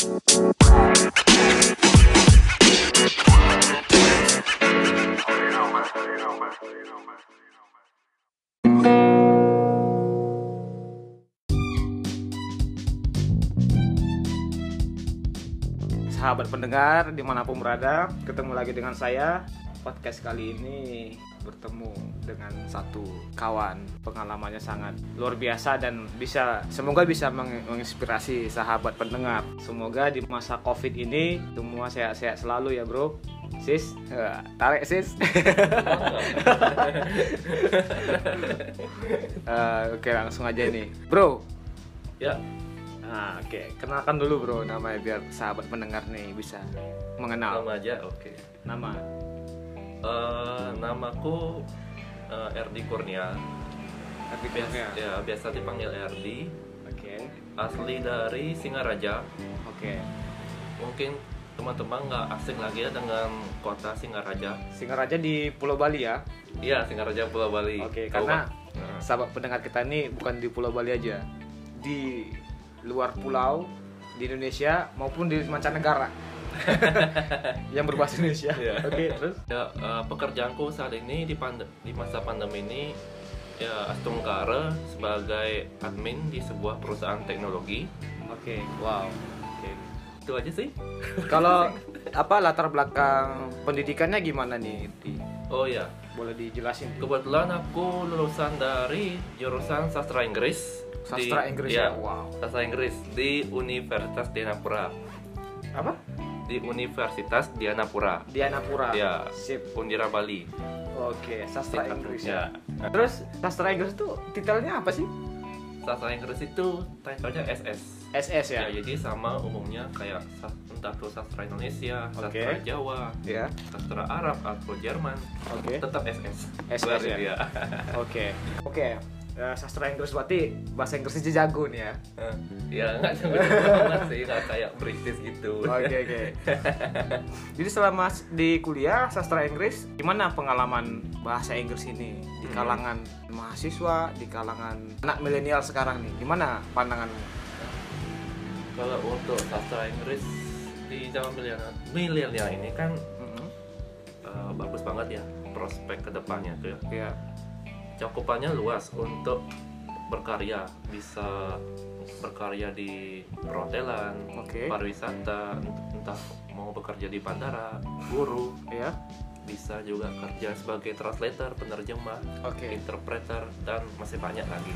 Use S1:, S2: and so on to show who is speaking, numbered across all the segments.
S1: Sahabat pendengar dimanapun berada, ketemu lagi dengan saya. Podcast kali ini bertemu dengan satu kawan, pengalamannya sangat luar biasa dan semoga bisa menginspirasi sahabat pendengar. Semoga di masa Covid ini semua sehat-sehat selalu ya bro. Sis, tarik sis. Oke, langsung aja nih bro.
S2: Ya.
S1: Nah, oke. Kenalkan dulu bro namanya biar sahabat pendengar nih bisa mengenal.
S2: Nama aja, oke.
S1: Nama.
S2: Namaku Erdi Kurnia.
S1: Erdi Kurnia.
S2: Ya, biasa dipanggil Erdi.
S1: Oke.
S2: Asli dari Singaraja.
S1: Oke.
S2: Mungkin teman-teman nggak asing lagi ya dengan kota Singaraja.
S1: Singaraja di Pulau Bali ya.
S2: Iya, Singaraja Pulau Bali.
S1: Oke, karena sahabat pendengar kita ini bukan di Pulau Bali aja. Di luar pulau di Indonesia maupun di mancanegara yang berbahasa Indonesia.
S2: Yeah.
S1: Oke, terus?
S2: Ya, pekerjaanku saat ini di masa pandemi ini ya astungkara sebagai admin di sebuah perusahaan teknologi.
S1: Oke, wow. Oke.
S2: Itu aja sih.
S1: Kalau latar belakang pendidikannya gimana nih?
S2: Oh ya,
S1: Boleh dijelasin?
S2: kebetulan aku lulusan dari jurusan sastra Inggris.
S1: Sastra Inggris ya? Wow.
S2: Sastra Inggris di Universitas Dianapura.
S1: Apa?
S2: Di Universitas Dianapura.
S1: Dianapura.
S2: Ya.
S1: Sip.
S2: Undira Bali.
S1: Oke, sastra Inggris ya.
S2: Ya.
S1: Terus sastra Inggris itu titelnya apa sih?
S2: Sastra Inggris itu title-nya SS.
S1: SS ya?
S2: Ya, jadi sama umumnya kayak entah itu sastra Indonesia, sastra
S1: Oke.
S2: Jawa,
S1: Ya.
S2: sastra Arab atau Jerman.
S1: Oke.
S2: Tetap SS.
S1: SS ya?
S2: Iya.
S1: Oke. Sastra Inggris berarti bahasa Inggrisnya jago nih ya.
S2: Ya nggak jago sih, nggak kayak British gitu.
S1: Oke. Jadi selama di kuliah sastra Inggris, gimana pengalaman bahasa Inggris ini di kalangan mahasiswa, di kalangan anak milenial sekarang nih? Gimana pandanganmu?
S2: Kalau untuk sastra Inggris di zaman milenial ini kan bagus banget ya prospek kedepannya tuh ya.
S1: Iya.
S2: Cakupannya luas untuk berkarya, bisa berkarya di perhotelan,
S1: Oke.
S2: pariwisata, entah mau bekerja di bandara, guru,
S1: Iya.
S2: bisa juga kerja sebagai translator, penerjemah,
S1: Oke.
S2: interpreter, dan masih banyak lagi.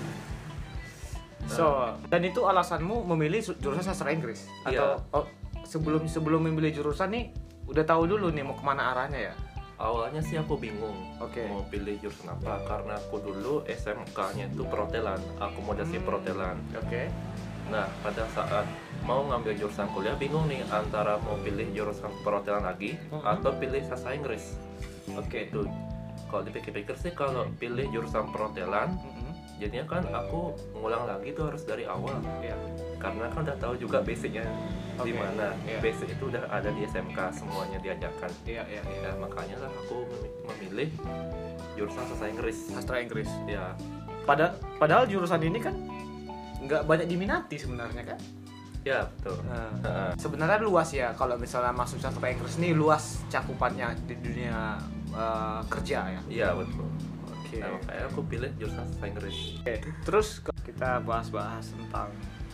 S1: Dan itu alasanmu memilih jurusan sastra Inggris? Atau sebelum memilih jurusan nih udah tahu dulu nih mau kemana arahnya ya?
S2: Awalnya sih aku bingung
S1: Oke.
S2: mau pilih jurusan apa, karena aku dulu SMK-nya itu perhotelan, akomodasi perhotelan.
S1: Oke.
S2: Nah, pada saat mau ngambil jurusan kuliah bingung nih antara mau pilih jurusan perhotelan lagi atau pilih sastra Inggris.
S1: Oke.
S2: Itu kalau dipikir-pikir sih kalau pilih jurusan perhotelan jadinya kan aku ngulang lagi tuh harus dari awal.
S1: Iya.
S2: Karena kan udah tahu juga basicnya di
S1: Oke.
S2: mana.
S1: Iya.
S2: Basic itu udah ada di SMK, semuanya diajarkan.
S1: Iya.
S2: Ya, makanya lah aku memilih jurusan sastra Inggris.
S1: Sastra Inggris.
S2: Ya,
S1: Padahal jurusan ini kan nggak banyak diminati sebenarnya kan?
S2: ya betul.
S1: Sebenarnya luas ya kalau misalnya masuk sastra Inggris ini luas cakupannya di dunia kerja ya.
S2: Iya betul.
S1: Oke.
S2: Nah, makanya aku pilih jurusan sastra Inggris.
S1: Oke. Terus kita bahas tentang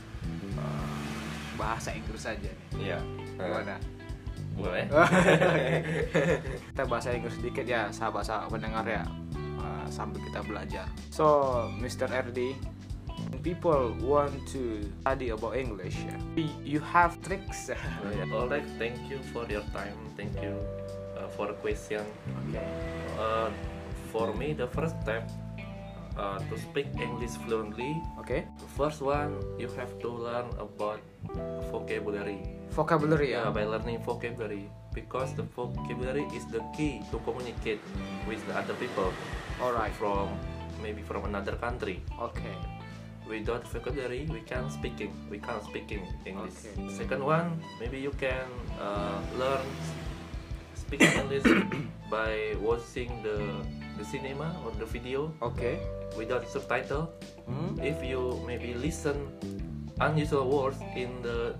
S1: bahasa Inggris aja nih.
S2: Iya.
S1: Gimana?
S2: Boleh.
S1: Kita bahasa Inggris sedikit ya sahabat-sahabat pendengar ya, sambil kita belajar. So, Mr. RD, when people want to study about English, you have tricks.
S2: Alright, thank you for your time. Thank you for the question.
S1: Okay.
S2: For me, the first step to speak English fluently.
S1: Okay.
S2: The first one, you have to learn about vocabulary.
S1: Vocabulary ya.
S2: By learning vocabulary, because the vocabulary is the key to communicate with the other people.
S1: Alright.
S2: Maybe from another country.
S1: Okay.
S2: Without vocabulary, we can't speak English.
S1: Okay.
S2: Second one, maybe you can learn speaking English by watching the cinema or the video
S1: Okay.
S2: without subtitle. If you maybe listen unusual words in the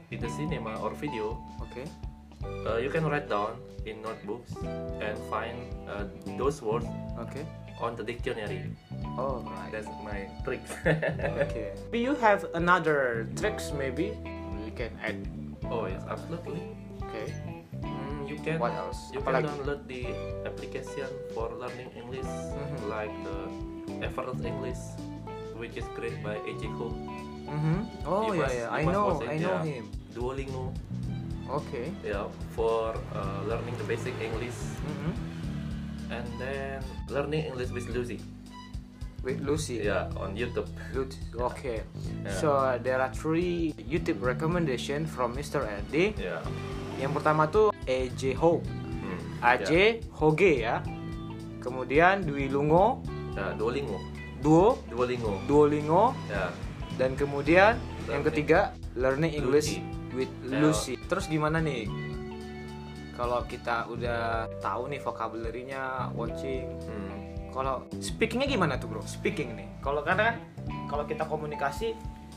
S2: in the cinema or video,
S1: Okay.
S2: you can write down in notebooks and find those words
S1: Okay.
S2: on the dictionary.
S1: Oh, right.
S2: That's my trick.
S1: Okay. Do you have another tricks maybe we can add?
S2: Oh yes, absolutely.
S1: Okay.
S2: You can.
S1: What else?
S2: You can download the application for learning English, like the Effortless English, which is created by AJ Ho.
S1: Oh
S2: You
S1: yeah,
S2: must-
S1: I
S2: you must
S1: know
S2: watch it,
S1: I know
S2: yeah.
S1: him.
S2: Duolingo,
S1: Okay.
S2: yeah, for learning the basic English, and then learning English with Lucy,
S1: With Lucy.
S2: yeah, on YouTube.
S1: Lucy. Okay.
S2: Yeah.
S1: So there are 3 YouTube recommendation from Mr. LD.
S2: Yeah.
S1: Yang pertama tuh AJ Ho. AJ Hoge ya. Kemudian Dwi Lungo,
S2: Yeah, Duolingo,
S1: Duolingo,
S2: yeah.
S1: dan kemudian yang
S2: Learning
S1: ketiga Learning English
S2: Lucy.
S1: with
S2: Ya.
S1: Lucy. Terus gimana nih? Kalau kita udah tahu nih vocabulary-nya, watching, kalau speakingnya gimana tuh bro? Speaking nih. Kalau karena kan kalau kita komunikasi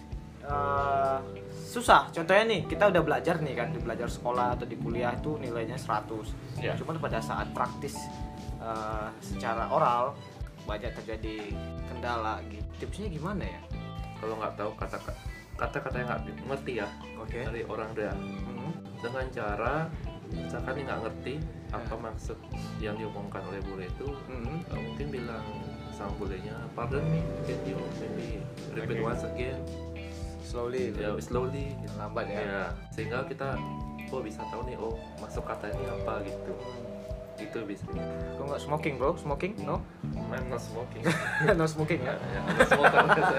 S1: susah. Contohnya nih kita udah belajar nih kan, di belajar sekolah atau di kuliah itu nilainya 100.
S2: Ya.
S1: Cuman pada saat praktis secara oral banyak terjadi kendala gitu. Tipsnya gimana ya?
S2: Kalau nggak tahu kata-kata yang nggak ngerti ya
S1: Oke.
S2: dari orang dia, dengan cara misalkan dia nggak ngerti apa maksud yang diomongkan oleh bule itu, mungkin bilang sama bulenya, pardon me, can you maybe repeat
S1: Okay.
S2: once again,
S1: Slowly.
S2: ya slowly,
S1: Lambat ya.
S2: ya, sehingga kita bisa tahu nih, oh masuk kata ini apa gitu, itu bisa.
S1: Kok nggak smoking bro? Smoking? No?
S2: I'm not smoking.
S1: No smoking ya?
S2: Ya, I'm not smoker.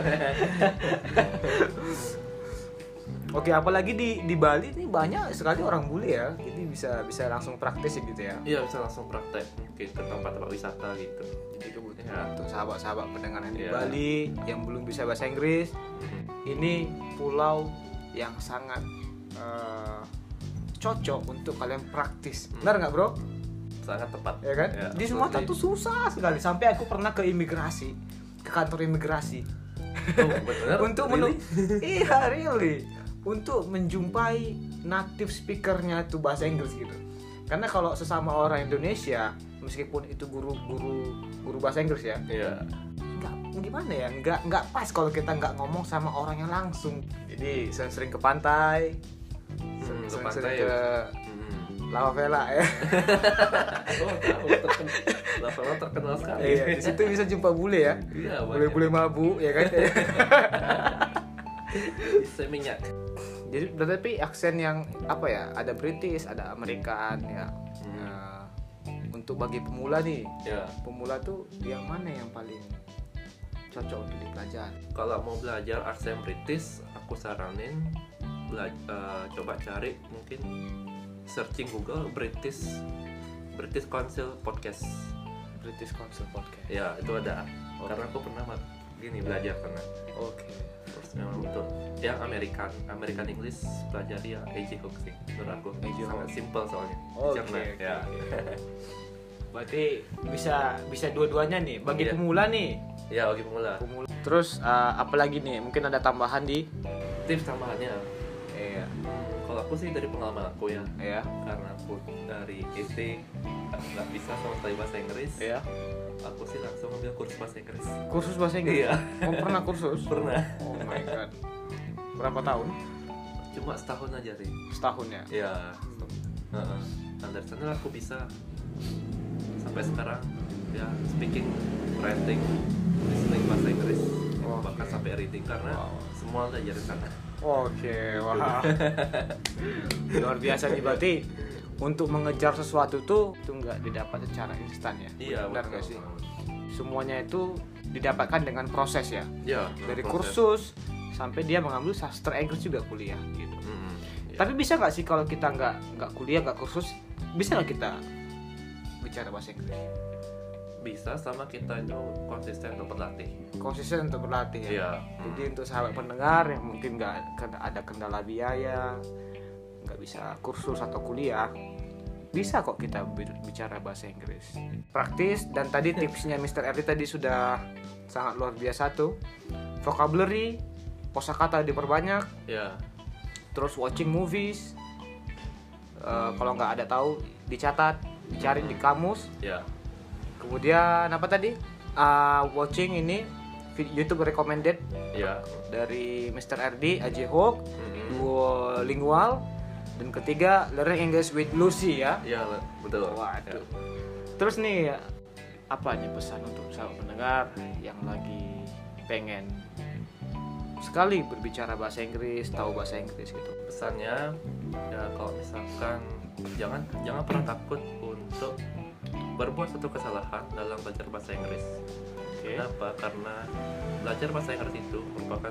S1: Oke, apalagi di Bali nih banyak sekali orang bule ya, jadi bisa langsung praktis gitu ya.
S2: Iya, bisa langsung praktek mungkin ke tempat-tempat wisata gitu.
S1: Jadi kemudian
S2: Ya.
S1: untuk sahabat-sahabat pendengar yang di
S2: Iya.
S1: Bali yang belum bisa bahasa Inggris, ini pulau yang sangat cocok untuk kalian praktis. Benar nggak bro?
S2: Sangat tepat.
S1: Ya kan?
S2: Ya,
S1: Di Sumatera tuh susah sekali. Sampai aku pernah ke imigrasi, ke kantor imigrasi.
S2: Oh, benar.
S1: Untuk iya really untuk menjumpai native speakernya itu bahasa Inggris gitu. Karena kalau sesama orang Indonesia, meskipun itu guru bahasa Inggris ya,
S2: Iya.
S1: nggak gimana ya, nggak pas kalau kita nggak ngomong sama orang yang langsung. Jadi sering ke pantai,
S2: Ke
S1: sering
S2: pantai.
S1: ke Lava Vela ya.
S2: Oh, tahu terkenal. Terkenal sekali.
S1: Iya, di situ bisa jumpa bule ya.
S2: Iya,
S1: Bule-bule mabuk ya kan.
S2: Bisa minyak.
S1: Jadi tapi aksen yang apa ya, ada British, ada American ya. Nah, untuk bagi pemula nih,
S2: Ya.
S1: pemula tuh yang mana yang paling cocok untuk dipelajari?
S2: Kalau mau belajar aksen British, aku saranin coba cari, mungkin searching Google British Council Podcast.
S1: British Council Podcast.
S2: Ya, itu ada.
S1: Oke.
S2: Karena aku pernah belajar pernah.
S1: Oke.
S2: Terus memang untuk yang American English pelajari ya AJ Hook sih menurut aku.
S1: AJ Hook.
S2: Sangat simple soalnya.
S1: Oke,
S2: Cerna,
S1: oke,
S2: ya.
S1: Berarti bisa dua-duanya nih bagi
S2: Iya.
S1: pemula nih.
S2: Ya, bagi pemula.
S1: Terus apalagi nih? Mungkin ada tambahan di
S2: Tips tambahannya,
S1: iya.
S2: kalau aku sih dari pengalaman aku ya,
S1: Iya.
S2: karena aku dari SD nggak bisa sama sekali bahasa Inggris,
S1: Iya.
S2: aku sih langsung ambil kursus bahasa Inggris.
S1: Kursus bahasa Inggris.
S2: Iya.
S1: Oh, pernah kursus?
S2: Pernah.
S1: Oh my god. Berapa tahun?
S2: Cuma setahun aja sih.
S1: Setahun ya.
S2: Iya. Heeh. Dan dari sana aku bisa sampai sekarang ya speaking, writing, listening bahasa Inggris, bahkan sampai reading karena semua belajar di sana.
S1: Oke, wah. Luar biasa nih, berarti untuk mengejar sesuatu tuh itu nggak didapat secara instan ya.
S2: Iya,
S1: Benar
S2: betul.
S1: nggak sih? Semuanya itu didapatkan dengan proses ya.
S2: Ya,
S1: Dari
S2: proses.
S1: kursus sampai dia mengambil sastra Inggris juga kuliah gitu.
S2: Iya.
S1: Tapi bisa nggak sih kalau kita nggak kuliah, nggak kursus, bisa nggak kita bicara bahasa Inggris?
S2: Bisa, sama kita itu konsisten untuk berlatih.
S1: Konsisten untuk berlatih ya.
S2: Iya.
S1: Jadi untuk sahabat pendengar yang mungkin nggak ada kendala biaya, nggak bisa kursus atau kuliah, bisa kok kita bicara bahasa Inggris. Praktis, dan tadi tipsnya Mr. Erdi tadi sudah sangat luar biasa tuh. Vocabulary, kosakata diperbanyak,
S2: Ya.
S1: terus watching movies. Kalau nggak ada tahu dicatat, dicari di kamus.
S2: Ya.
S1: Kemudian apa tadi? Watching ini YouTube recommended
S2: Ya.
S1: dari Mr. RD, AJ Hook, Duolingual, dan ketiga Learning English with Lucy ya.
S2: Ya, betul.
S1: Waduh.
S2: Ya.
S1: Terus nih apa nih pesan untuk sahabat pendengar yang lagi pengen sekali berbicara bahasa Inggris, tahu bahasa Inggris gitu?
S2: Pesannya ya kalau misalkan jangan pernah takut untuk berbuat satu kesalahan dalam belajar bahasa Inggris.
S1: Okay.
S2: Kenapa? Karena belajar bahasa Inggris itu merupakan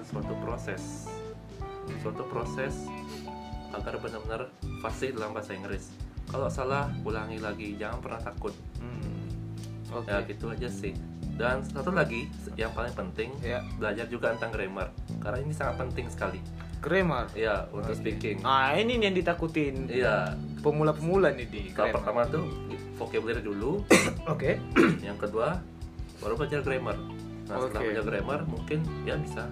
S2: suatu proses agar benar-benar fasih dalam bahasa Inggris. Kalau salah, ulangi lagi, jangan pernah takut.
S1: Okay.
S2: Ya gitu aja sih. Dan satu lagi yang paling penting, belajar juga tentang grammar, karena ini sangat penting sekali.
S1: Grammar?
S2: Ya, untuk speaking.
S1: Ini nih yang ditakutin.
S2: Iya.
S1: Pemula-pemula nih di
S2: Kalau
S1: grammar.
S2: pertama tuh vocabulary dulu.
S1: Oke.
S2: Yang kedua baru belajar grammar. Nah, setelah belajar grammar mungkin ya bisa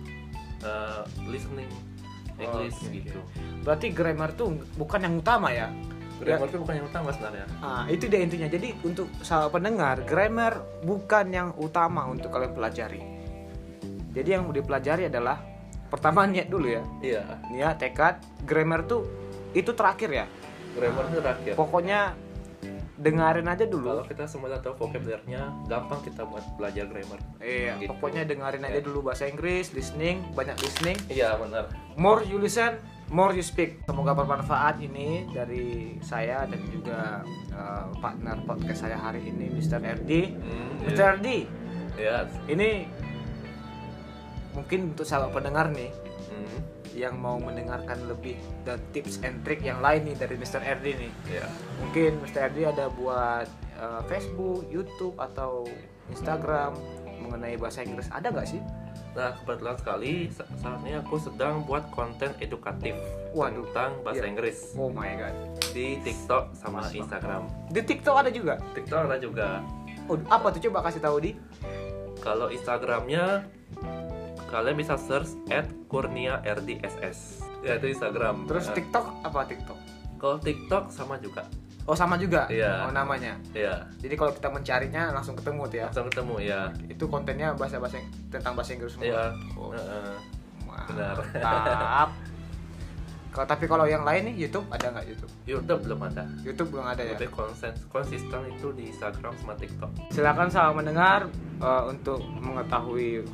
S2: listening English gitu.
S1: Berarti grammar tuh bukan yang utama ya?
S2: Grammar itu bukan yang utama sebenarnya.
S1: Itu dia intinya. Jadi untuk sahabat pendengar, grammar bukan yang utama untuk kalian pelajari. Jadi yang dipelajari adalah pertama niat dulu ya.
S2: Iya.
S1: Niat, tekad. Grammar tuh itu terakhir ya.
S2: Grammar itu terakhir.
S1: Pokoknya dengerin aja dulu.
S2: Kalau kita semua tahu vocabulary-nya, gampang kita buat belajar grammar.
S1: Iya.
S2: Gitu.
S1: Pokoknya dengerin aja dulu bahasa Inggris, listening, banyak listening.
S2: Iya benar.
S1: More you listen, more you speak. Semoga bermanfaat ini dari saya dan juga partner podcast saya hari ini, Mr. RD. Mr. RD,
S2: Iya.
S1: ini mungkin untuk sahabat pendengar nih yang mau mendengarkan lebih dan tips and trick yang lain nih dari Mr. RD nih.
S2: Iya.
S1: Mungkin Mr. RD ada buat Facebook, YouTube atau Instagram mengenai bahasa Inggris, ada nggak sih?
S2: Nah kebetulan sekali saat ini aku sedang buat konten edukatif tentang bahasa Inggris
S1: Oh my god.
S2: di TikTok sama Instagram.
S1: Di TikTok ada juga?
S2: TikTok ada juga.
S1: Oh, apa tuh, coba kasih tahu di?
S2: Kalau Instagramnya kalian bisa search @kurniardss. Ya itu Instagram.
S1: Terus
S2: Nah,
S1: TikTok apa TikTok?
S2: kalau TikTok sama juga.
S1: Oh sama juga?
S2: Iya.
S1: Oh namanya?
S2: Iya.
S1: Jadi kalau kita mencarinya langsung ketemu tuh ya?
S2: Langsung ketemu ya.
S1: Itu kontennya tentang bahasa Inggris semua?
S2: Iya.
S1: Oh.
S2: Benar.
S1: Mantap. Tapi kalau yang lain nih, YouTube ada nggak YouTube?
S2: YouTube belum ada.
S1: YouTube belum ada ya?
S2: Lebih konsisten itu di Instagram sama TikTok.
S1: Silakan sahabat mendengar untuk mengetahui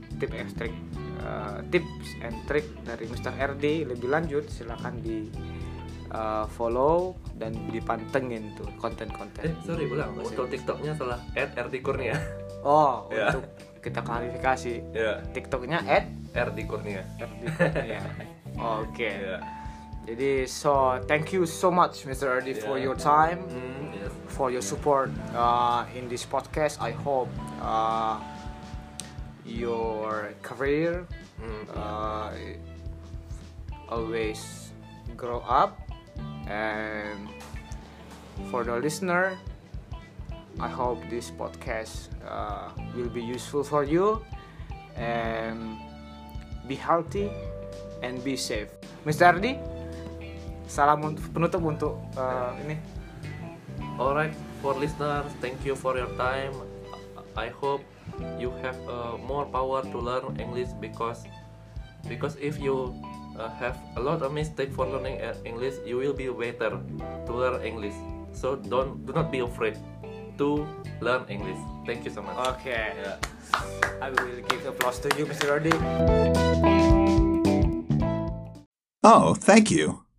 S1: tips and trick dari Mr. RD lebih lanjut, silakan di follow dan dipantengin tuh konten-konten.
S2: Sorry ulang. Untuk TikToknya salah @rdkurnia.
S1: Oh,
S2: Ya.
S1: untuk kita klarifikasi.
S2: Ya.
S1: TikToknya
S2: @rdkurnia.
S1: @rdkurnia. Oke.
S2: Ya.
S1: Jadi thank you so much Mr. RD for your time,
S2: Yes.
S1: for your support in this podcast. I hope your career always grow up, and for the listener, I hope this podcast will be useful for you, and be healthy and be safe. Mr. RD, salam penutup untuk ini.
S2: Alright, for listeners, thank you for your time. I hope you have more power to learn English because if you have a lot of mistake for learning English, you will be better to learn English. So do not be afraid to learn English. Thank you so much.
S1: Okay.
S2: Yeah.
S1: I will give applause to you, Mr. RD.
S3: Oh, thank you.